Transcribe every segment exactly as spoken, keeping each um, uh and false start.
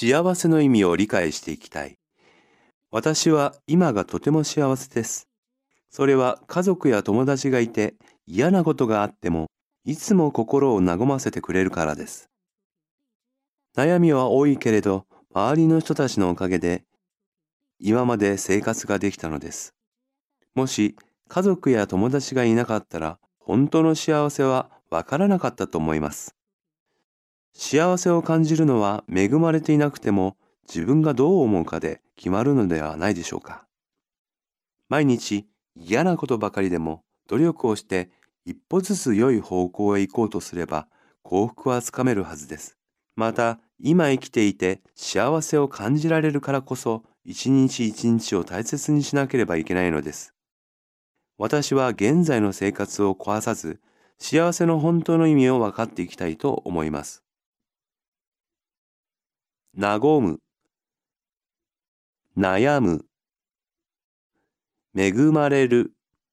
幸せの意味を理解していきたい。私は今がとても幸せです。それは家族や友達がいて嫌なことがあってもいつも心を和ませてくれるからです。悩みは多いけれど周りの人たちのおかげで今まで生活ができたのです。もし家族や友達がいなかったら本当の幸せはわからなかったと思います。幸せを感じるのは恵まれていなくても自分がどう思うかで決まるのではないでしょうか。毎日嫌なことばかりでも努力をして一歩ずつ良い方向へ行こうとすれば幸福はつかめるはずです。また今生きていて幸せを感じられるからこそ一日一日を大切にしなければいけないのです。私は現在の生活を壊さず幸せの本当の意味を分かっていきたいと思います。和む、悩む、恵まれる、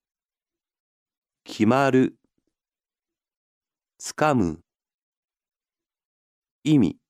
決まる、つかむ、意味。